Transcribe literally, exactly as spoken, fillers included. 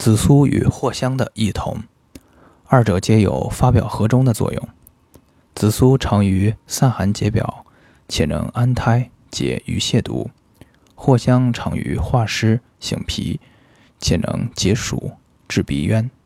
紫苏与藿香的异同，二者皆有发表和中的作用。紫苏常于散寒解表，且能安胎解鱼泻毒；藿香常于化湿醒脾，且能解暑治鼻渊。